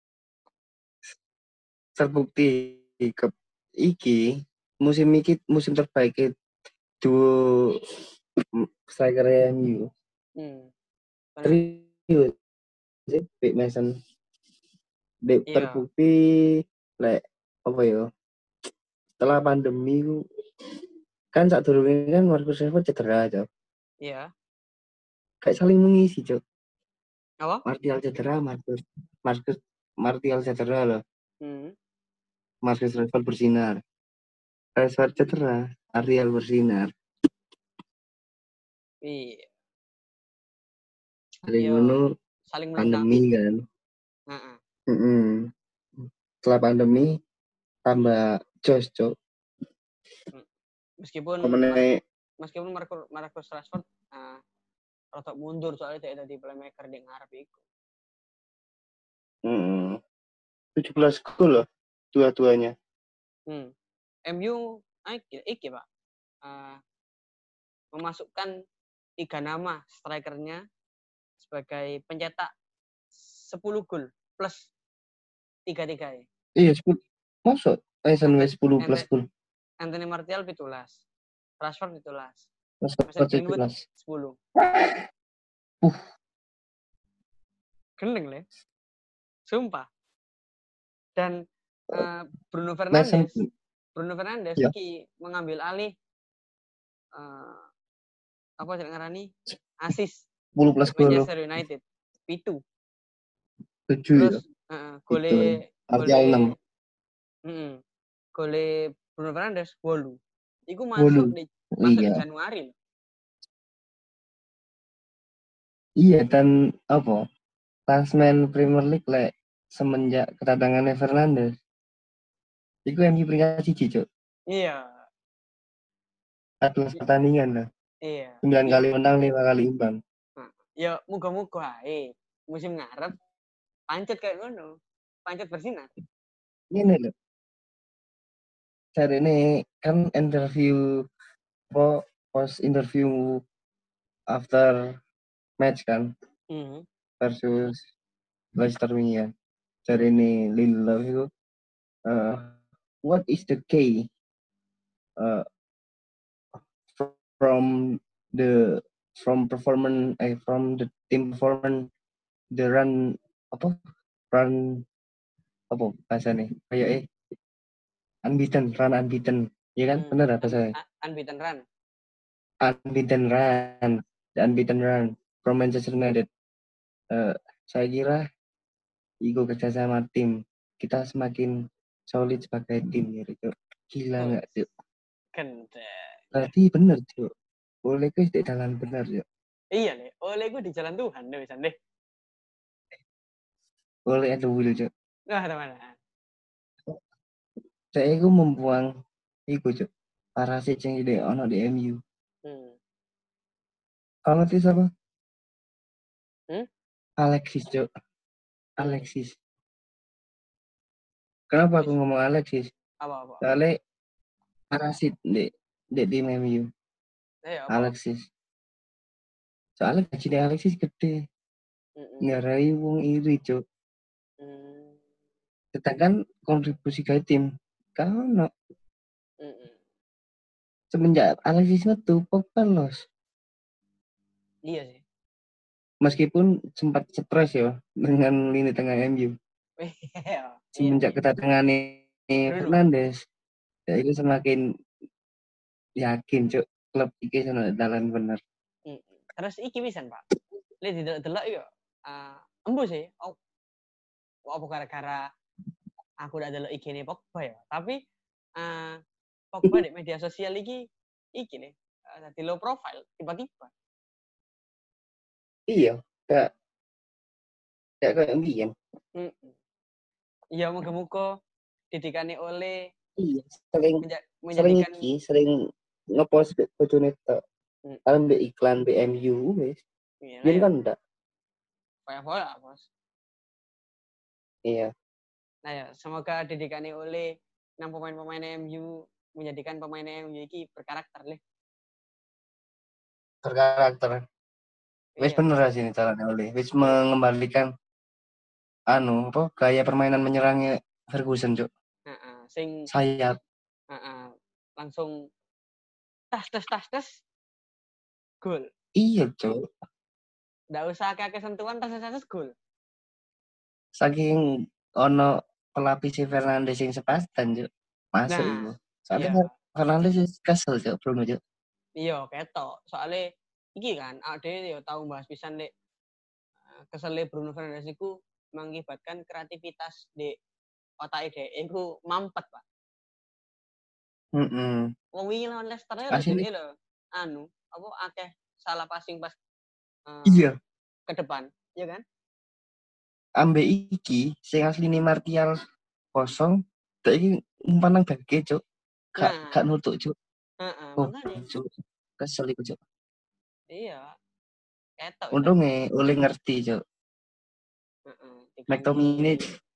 Terbukti iki musim terbaik duo striker MU. Serius. Big Mason. Terbukti lek apa ya? Setelah pandemi kan saat dulu ini kan Marcus Rashford cedera aja. Iya. Kayak saling mengisi, Cok. Apa? Martial cedera, Martial cedera loh. Marcus Rashford bersinar. Rashford cedera, Martial bersinar. Iya. Saling pandemi kan. Setelah pandemi tambah jos, Cok. Meskipun Marcus Rashford rotok mundur soalnya tidak jadi playmaker di ngarep iku. 17 gol loh dua-duanya. MU iki Pak. Memasukkan 3 nama strikernya sebagai pencetak 10 gol plus 3-3 ya. Iya, Masuk Mason wis 10 plus gol. Anthony Martial 17. Rashford 17. Masuk Mason Greenwood 10. Gendeng le. Sumpah. Dan Bruno Fernandes ya. iki mengambil alih apa sih ngarani? Asis 10 plus gol. Manchester United. 7. 7 Terus ya. gole Martial 6. Gole Bruno Fernandes 8. Iku masuk di Januari. Iya, dan apa? Klasemen Premier League semenjak kedatangan Fernandes. Iku MU peringkat 1, Cuk. Iya. 14 pertandingan lah. Iya. 9 kali menang, 5 kali imbang. Ya muga-muga musim ngarep pancet kayak ngono. Pancet bersinar. Ini loh. Cari ini kan interview post interview after match kan versus Leicester ini ya. Cari ini Lindelof itu what is the key from the team performance the run apa bahasanya kayak unbeaten ya kan benar apa saya unbeaten run from Manchester United. Saya kira itu kerjasama tim kita semakin solid sebagai tim gitu. Gila nggak tuh? Berarti bener tuh. Oleh gue di jalan benar ya. Iya nih, oleh gue di jalan Tuhan deh bisa deh. Oleh ada will cuk. Nah, mana? Saya itu membuang iku cuk. Parasit yang ide ono di MU. Kalau ngerti siapa? Alexis cuk. Alexis. Kenapa aku ngomong Alexis? Apa? Soalnya parasit di tim MU. Alexis. Soalnya gajinya Alexis gede. Ngarai wong iri cuk. Sedangkan kontribusi ke tim kalau semenjak Alexis itu Pogba los. Iya sih. Meskipun sempat stres ya dengan lini tengah MU. Semenjak kedatangan Fernandes, ya itu semakin yakin cuk klub iki sono dalan bener. Terus iki pisan, Pak. Lihat delok yo. Embo sih. Apa gara-gara aku udah delok IG-ne Pogba ya. Tapi Pogba di media sosial iki nih. Dadi low profile tiba-tiba. Iya, kayak mbiyen. Iya, muga-muga didikane oleh sering ngepost bojone tok. Ambek iklan BMU wis. Iya kan enggak? Kayak bola, Bos. Iya. Nah ya, semoga didikane oleh 6 pemain-pemain MU menjadikan pemain MU iki berkarakter leh. Berkarakter. Wis bener sih caranya oleh. Wis mengembalikan gaya permainan menyerangnya Ferguson, Cuk. Sing sayap. Langsung tas gol. Iya, Cuk. Nggak usah kakek sentuhan tas gol. Saking ono pelapis Fernandes yang sepastan, Cuk. Masuk itu. Soalnya Fernandes kesel, Cuk, Bruno, Cuk. Iya, ketok. Soalnya iki kan, ade yo tahu bahas pisan Dek. Kesele Bruno Fernandes iku mengakibatkan kreativitas di otake dhek iku mampet, Pak. Wong wingi lawan Leicester lho akeh salah passing pas iya ke depan, iya kan? Ambek iki sing asline Martial kosong, tak iki umpan nang beke, Cuk. Gak nutuk, Cuk. Makanya. Cuk. Kesel iku, Cuk. Iya. Ketok. Untunge oleh ngerti, Cuk. McTominay,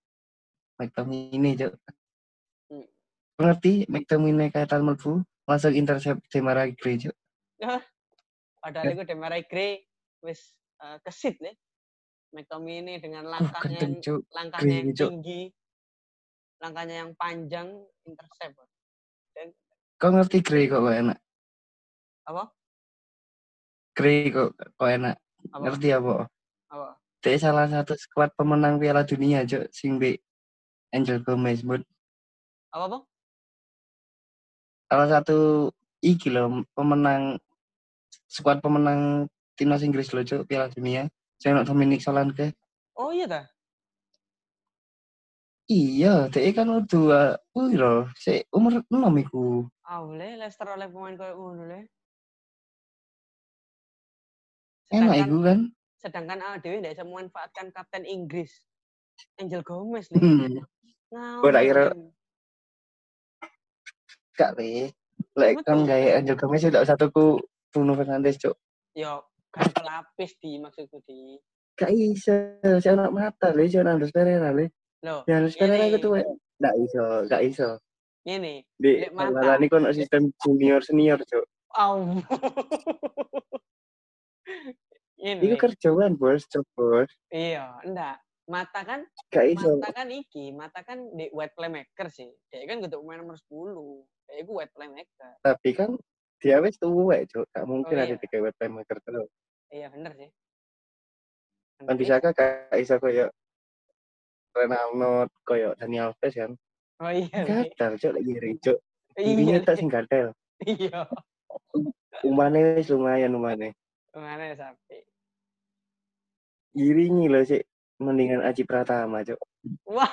Cuk. Ngerti McTominay kaitan mlebu langsung intercept Demarai Gray, Cuk. Padahal iku Demarai Gray wis kesit le. McTominay dengan langkahnya yang tinggi. langkahnya yang panjang intercept. Kau ngerti Gray kok enak? Apa? Gray kok enak. Apa? Ngerti apa? Apa? Dia salah satu skuad pemenang Piala Dunia, Cuk, sing be Angel Gomez, Bud. Apa, Bang? Salah satu iki loh, skuad pemenang timnas Inggris loh, Cuk, Piala Dunia. Saya Dominic Solanke. Oh iya dah. Iya, dia kan udah loh, umur 6 iku. Boleh Leicester oleh pemain koyo ngono le. Enak iku kan? Sedangkan Dewi tidak bisa memanfaatkan kapten Inggris Angel Gomez le. Gue tak kira gak le. Lek kan gaya Angel Gomez sudah satuku Bruno Fernandes, Cuk. Yo, kan pelapis di maksudku di. Gak iso, saya anak mata le, saya Andres Pereira le. Loh, ya Andres Pereira itu gak iso. Ini, Di malah ini kan sistem junior senior, Cuk. Ini. Iku kerjaan bos. Iya, enggak. Mata kan di wide playmaker sih. Dia kan kudu pemain nomor 10. Dia iku wide playmaker. Tapi kan dia wis tuwek, Cuk. Gak mungkin ada di wide playmaker terus. Iya, bener sih. Kan bisa gak iso koyo Ronaldo, koyo Dani Alves kan. Oh iya. Gatel, Cuk, lagi ngiri, Cuk. Ini tak sing gatel. Iya. Umane wis lumayan umane. Umane sapi. Iringi loh sih, mendingan Aji Pratama, Cuk. Wah.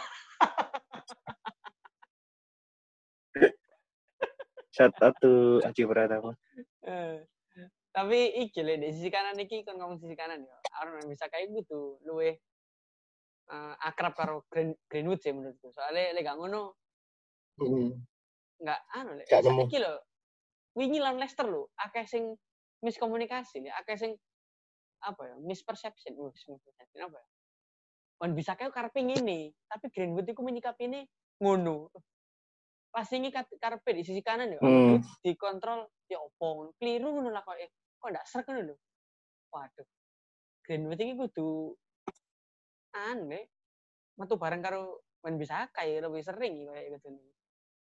Shout out to Aji Pratama. Tapi iki le di sisi kanan iki kon ngomong sisi kanan ya. Aron bisa kayak gitu, luwe akrab karo Greenwood sih menurutku. Soalnya lek gak ngono enggak le. Iki lho. Wingi lawan Leicester lho, akeh sing miskomunikasi nih, akeh sing apa ya, misperception apa ya? Wan bisa kayak karepe ngene, tapi Greenwood iku menyikapi ini ngono. Pas ini karepe di sisi kanan ya, dikontrol ya opo, keliru ngono lah kok ndak srek ngono lho. Waduh. Greenwood iki kudu aneh. Metu bareng karo Wan bisa kayak lebih sering kayak gitu nih.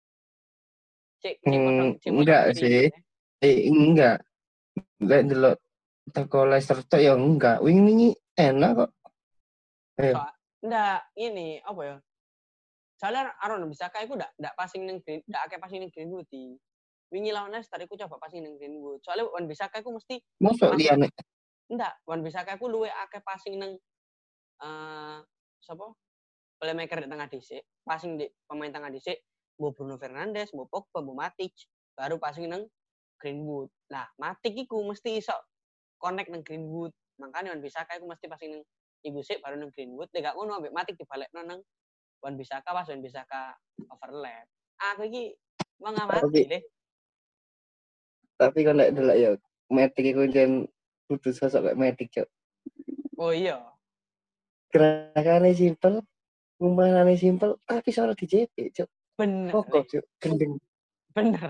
Enggak sih. Enggak. Enggak delok teko Leicester tok ya enggak. Wingi enak kok. Enggak, ini apa ya? Soalnya Aaron bisa kayak aku enggak passing ning akeh passing ning Greenwood di. Wingi lawan Leicester aku coba passing ning Greenwood. Soalnya Wan bisa kayak aku mesti masuk liyane. Enggak, Wan bisa kayak aku luwe akeh passing ning sapa? Playmaker di tengah dhisik, passing di pemain tengah dhisik, mau Bruno Fernandes, mau Pogba, mau Matic, baru passing nang Greenwood. Nah, Matic iku mesti iso connect nang Greenwood. Makanya Wan Bissaka iku mesti passing nang iku sik baru nang Greenwood. Lek gak ngono ambek Matic dibalekno nang Wan Bissaka pas Wan Bissaka overlap. Aku iki mengamati deh. Tapi kan lek delok ya Matic iku jen kudu sosok kayak Matic, Cuk. Oh iya. Gerakannya simpel, umpanannya simpel, tapi soal di JP, Cuk. Bener. Pokok, Cuk. Gendeng. Bener.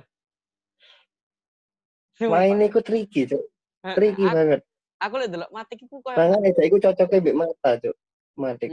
Mainnya iku tricky, Cuk. Tricky banget. Aku lihat delok Matic iku koyo Tangan aja iku cocoknya mbek mata, Cuk. Matic.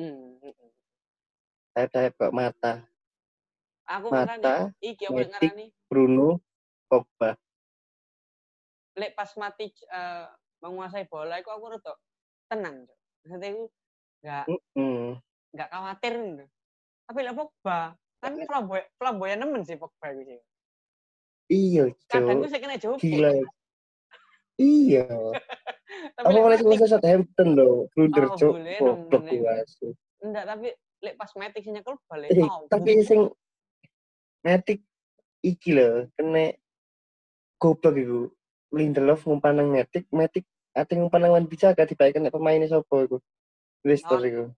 Sayap kok mata. Aku mata, iki aku ngarani Bruno, Pogba. Lek pas Matic menguasai bola iku aku rada tenang, Cuk. Maksudnya iku enggak khawatir gitu. Tapi lek Pogba kan flamboyan nemen sih Pogba iku sih. Iya, Cuk. Kadang gue kena jauh. Gila. Iya. Tapi apa lagi masa Southampton loh, blunder, Cuk. Goblok kuasu. Enggak, tapi lek pas Matic sing nyekel balik. Tapi sing Matic iki lho, kena goblok iku. Lindelof ngumpan nang Matic ate ngumpan nang Wan Bissaka dibaikkan nek pemaine sapa iku. Leicester iku.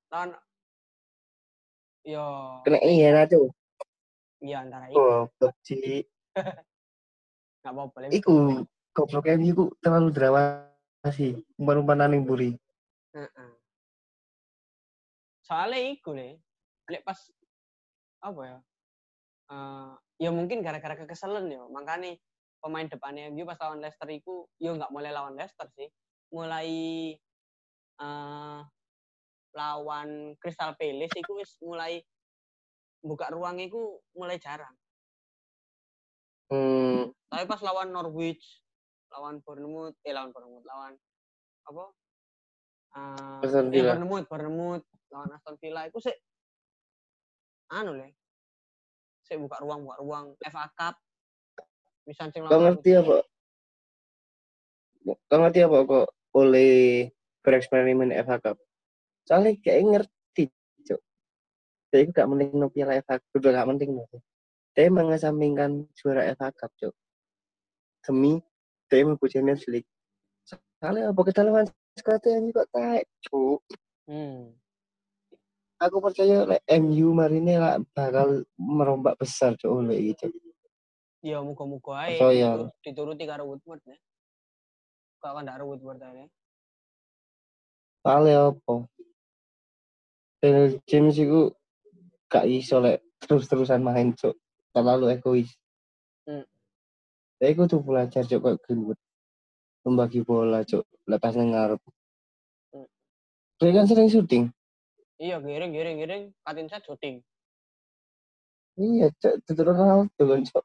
Yo. Kena iya Cuk. Iya antara iku. Goblok sih. Enggak apa-apa. Iku goblok iku terlalu drawasi. Umpan-umpanan ning mburi. Soalnya iku lek pas apa ya? Ya mungkin gara-gara kekesalan ya. Makanya pemain depannya MU pas lawan Leicester iku yo enggak mulai lawan Leicester sih. Mulai lawan Crystal Palace iku wis mulai buka ruang itu mulai jarang. Hmm, Tapi pas lawan Norwich, lawan Bournemouth, lawan apa? Aston Villa. Bournemouth lawan Aston Villa itu sih le. Sih buka ruang FA Cup. Misal Kau ngerti apa kok oleh bereksperimen FA Cup? Soalnya kayak ngerti, Cuk. Jadi gak penting no piala FA Cup, udah gak penting no. Dia mengesampingkan juara FA Cup, Cuk. Demi dia mau Champions League. Soalnya apa kita lawan Scotland kok taek, Cuk. Aku percaya MU hari ini bakal merombak besar, Cuk, oleh gitu. Ya muga-muga ae dituruti karo Woodward ya. Kok kan ndak Woodward ae. Soalnya apa? James itu gak iso terus-terusan main, Cuk. Terlalu egois. Saya tuh belajar, Cuk, kok Greenwood. Membagi bola, Cuk. Lepas ngarep. Dia kan sering syuting. Iya, giring. Katin saya syuting. Iya, Cuk. Itu Ronaldo kan, Cuk.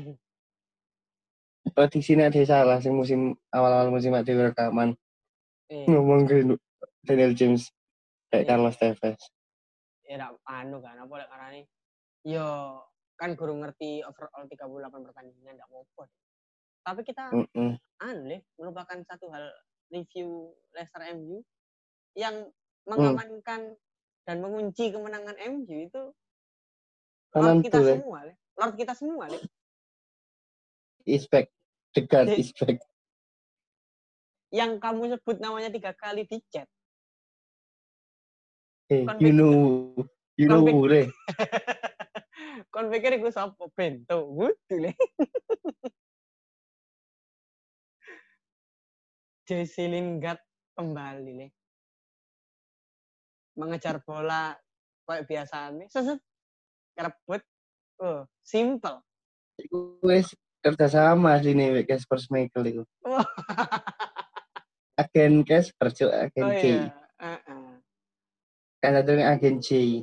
Prediksinya ada salah sih musim awal musim ada rekaman. Ngomong Greenwood, Daniel James kayak Carlos Tevez. Ya kan apa lek karane. Yo kan guru ngerti overall 38 pertandingan enggak apa-apa. Tapi kita melupakan satu hal review Leicester MU yang mengamankan dan mengunci kemenangan MU itu Lord kita semua. Is back. The God is back. Yang kamu sebut namanya 3 kali di chat. You know ure. Kon pikir iku sapa bento kudu le. Jesse Lingard kembali le. Mengejar bola kayak biasanya. Seset. Kerebut. Simple. Iku wis kerjasama sini Casper Schmeichel itu. Agen Casper, Cuk, agen C. Kan ada agen C.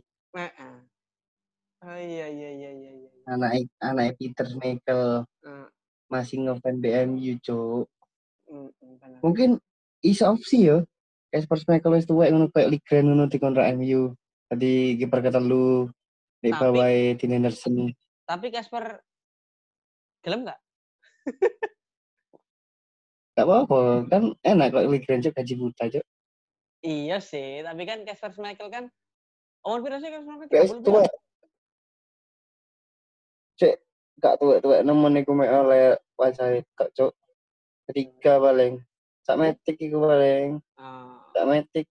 Oh iya. Anak Peter Schmeichel. Masih ngefan BMU, Cuk. Mungkin iso opsi ya. Casper Schmeichel wis tuwek ngono kayak Ligren ngono dikontrak MU. Tadi kiper ketelu di bawah Dean Henderson. Tapi Casper gelem enggak? Gak apa-apa, kan enak kok Ligren Cuk gaji buta, Cuk. Iya sih, tapi kan Casper Schmeichel kan umur pira sih Casper Schmeichel? 30 Cek, gak tua-tua nemen iku mek oleh wajahe kok, Cuk. Ketiga paling. Sak metik iku paling. Sak metik.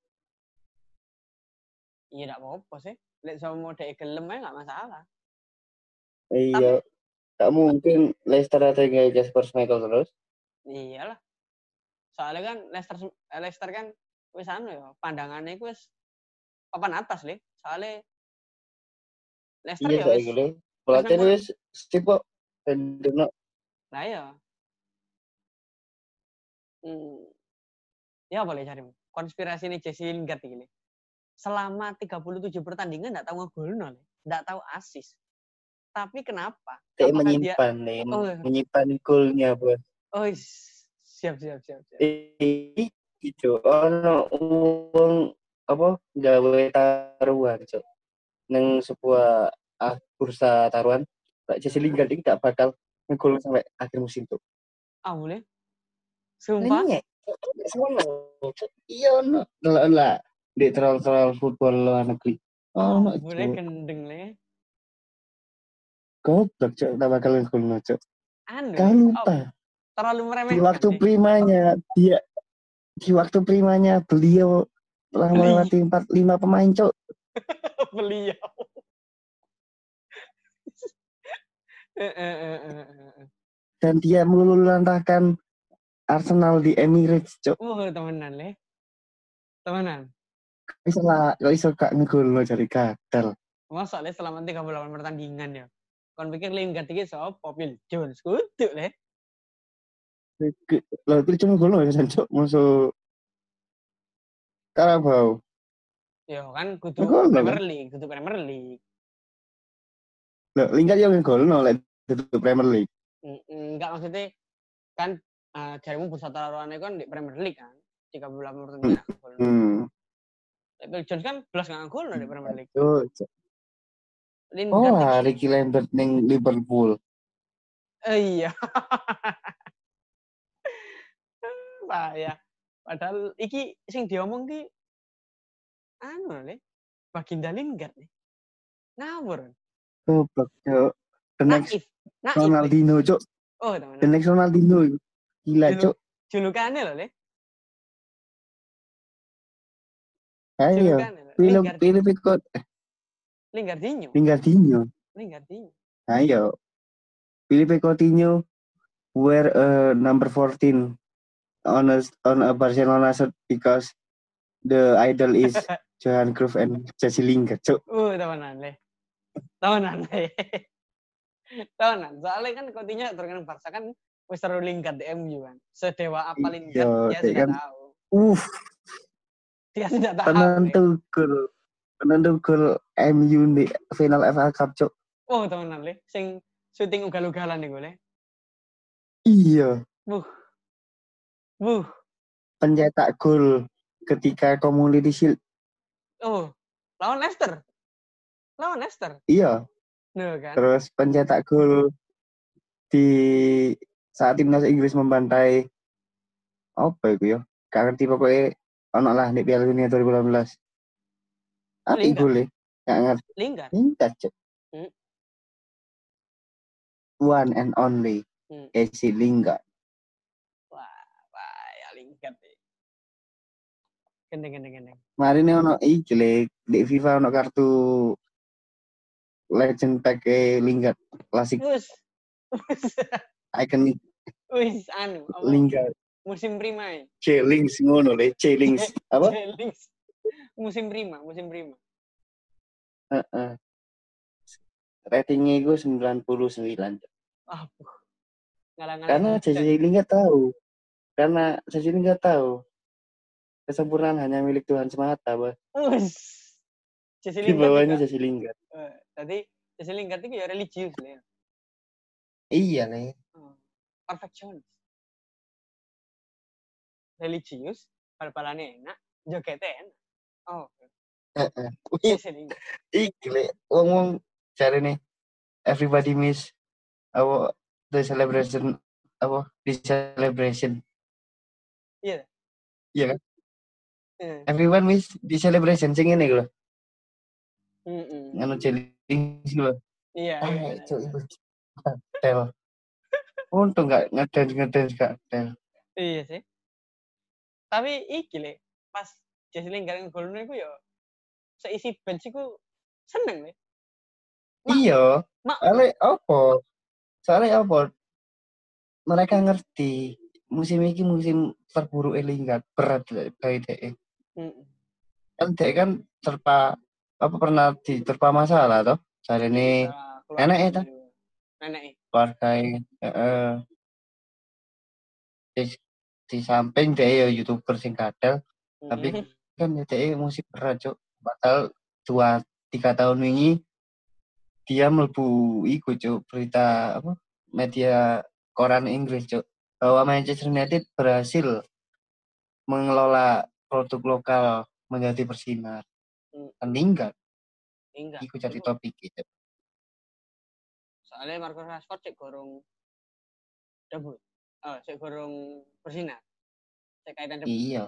Iya enggak apa-apa sih. Lek sama dhek gelem ae enggak masalah. Iya. Gak mungkin Leicester ada kayak Casper Schmeichel terus. Iyalah. Soalnya kan Leicester kan wis ya, pandangannya iku wis papan atas le. Soalnya Leicester ya wis. Iya, pelatih wis sip-kok. Lah ya. Ya boleh carimu. Konspirasi ini Jesse Lingard ini. Selama 37 pertandingan enggak tahu ngegolno, enggak tahu assist. Tapi kenapa? Menyimpan golnya, Bos. Oh, siap. Itu ono wong apa gawe taruhan, Cuk. Nang sebuah bursa taruhan, Jesse Lingard iki gak bakal ngegol sampai akhir musim tuh. Boleh? Sumpah? Iya, no. Lah. Di troll football luar negeri. Boleh gendeng le. Goblok, Cuk, tak bakal ngegol, Cuk. Kan lupa. Terlalu meremehkan. Di waktu primanya beliau telah melewati 4-5 pemain, Cuk. Beliau. Dan dia meluluhlantahkan Arsenal di Emirates, Cuk. Temenan le. Temenan. Kok iso gak ngegol lo dari gagal. Masa le selama 38 pertandingan ya. Kon pikir Lingard iki sapa? Phil Jones kudu le. Lah itu cuma gol ya Cuk, musuh Carabao. Ya kan kudu Premier League. Loh, Lingard yang ngegolno lek di Premier League. Enggak, maksudnya kan jarimu bursa taruhannya kan di Premier League kan. 38 pertandingan gol. Phil Jones kan belas nggak gol di Premier League. Oh, Ricky Lambert ning Liverpool. Iya. Ya. Padahal iki sing diomong ki anu le, Baginda Lingard nih. Ngawur. Goblok, Cuk. The next Ronaldinho, Cuk. Oh, teman. The next Ronaldinho. Gila, Cuk. Julukannya loh, le. Ayo. Pilih ikut. Lingardinho. Ayo. Filipe Coutinho wear number 14 on a Barcelona shirt because the idol is Johan Cruyff and Jesse Lingard, Cuk. Temenan. Soalnya kan Coutinho terkenal Barca kan wis terus Lingard di MU kan. Sedewa apa Lingard dia sudah tahu. Dia sudah tahu. Penentu gol MU di final FA Cup, Cuk. Temenan le. Sing syuting ugal-ugalan nih gue le. Iya. Buh. Pencetak gol ketika Community Shield. Lawan Leicester. Iya. Kan? Terus pencetak gol di saat timnas Inggris membantai apa itu ya? Gak ngerti pokoknya ono lah di Piala Dunia 2018. Apa gol? Gak ngerti. Lingard, Cuk. One and only. Jesse Lingard. Wah, ya Lingard. Gendeng. Mari ini ono iki di FIFA ono kartu legend pack Lingard klasik. Iconic. Lingard. Musim prima. C-Links ngono le, C-Links. Apa? C-Links. Musim prima. Ratingnya itu 99. Karena Jesse Lingard tahu. Kesempurnaan hanya milik Tuhan semata, Bah. Di bawahnya Jesse Lingard. Tadi Jesse Lingard itu ya religius, Le. Iya, Le. Perfeksionis. Religius, bal-balannya enak, jogetnya enak. Jesse Lingard. Iki, Le. Ngomong cari nih. Everybody miss the celebration. Iya. Iya kan? Everyone miss the celebration sing ngene lho. Ngono Jellings lho. Iya. Tel. Untung enggak ngedance gak tel. Iya sih. Tapi iki le, pas Jesse Lingard ngegolne iku yo seisi bench iku seneng le. Iya. Soalnya apa? Mereka ngerti musim ini musim terburuk Lingard, berat dari DE. Kan DE kan pernah diterpa masalah toh. Hari ini nenek itu. Keluarga di samping DE ya YouTuber sing kadal, tapi kan DE musim berat, Cuk. Padahal 2-3 tahun ini dia mlebu iku, Cuk, berita apa? Media koran Inggris, Cuk. Bahwa Manchester United berhasil mengelola produk lokal menjadi bersinar. Lingard. Iku jadi topik gitu. Soalnya Marcus Rashford cek gorong debut. Cek gorong bersinar. Cek kaitan debut. Iya.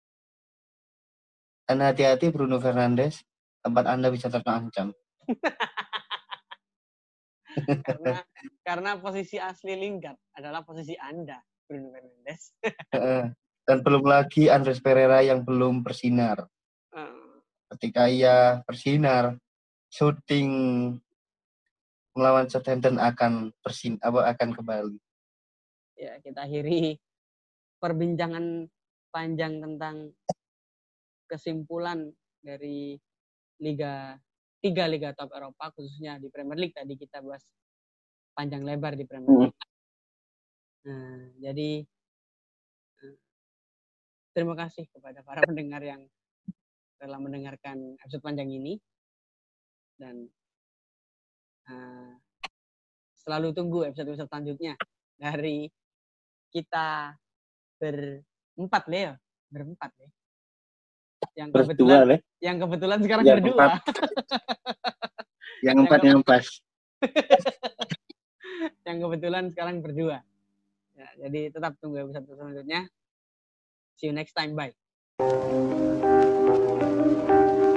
Dan hati-hati Bruno Fernandes, tempat Anda bisa terancam. karena posisi asli Lingard adalah posisi Anda, Bruno Fernandes. Dan belum lagi Andres Pereira yang belum bersinar. Ketika ia bersinar, syuting melawan Southampton akan kembali. Ya, kita akhiri perbincangan panjang tentang kesimpulan dari tiga liga top Eropa, khususnya di Premier League. Tadi kita bahas panjang lebar di Premier League. Jadi terima kasih kepada para pendengar yang telah mendengarkan episode panjang ini, dan Selalu tunggu episode-episode selanjutnya dari kita berempat ya. Yang kebetulan sekarang berdua. Yang empat yang pas. Yang kebetulan sekarang berdua. Ya, jadi tetap tunggu episode selanjutnya. See you next time. Bye.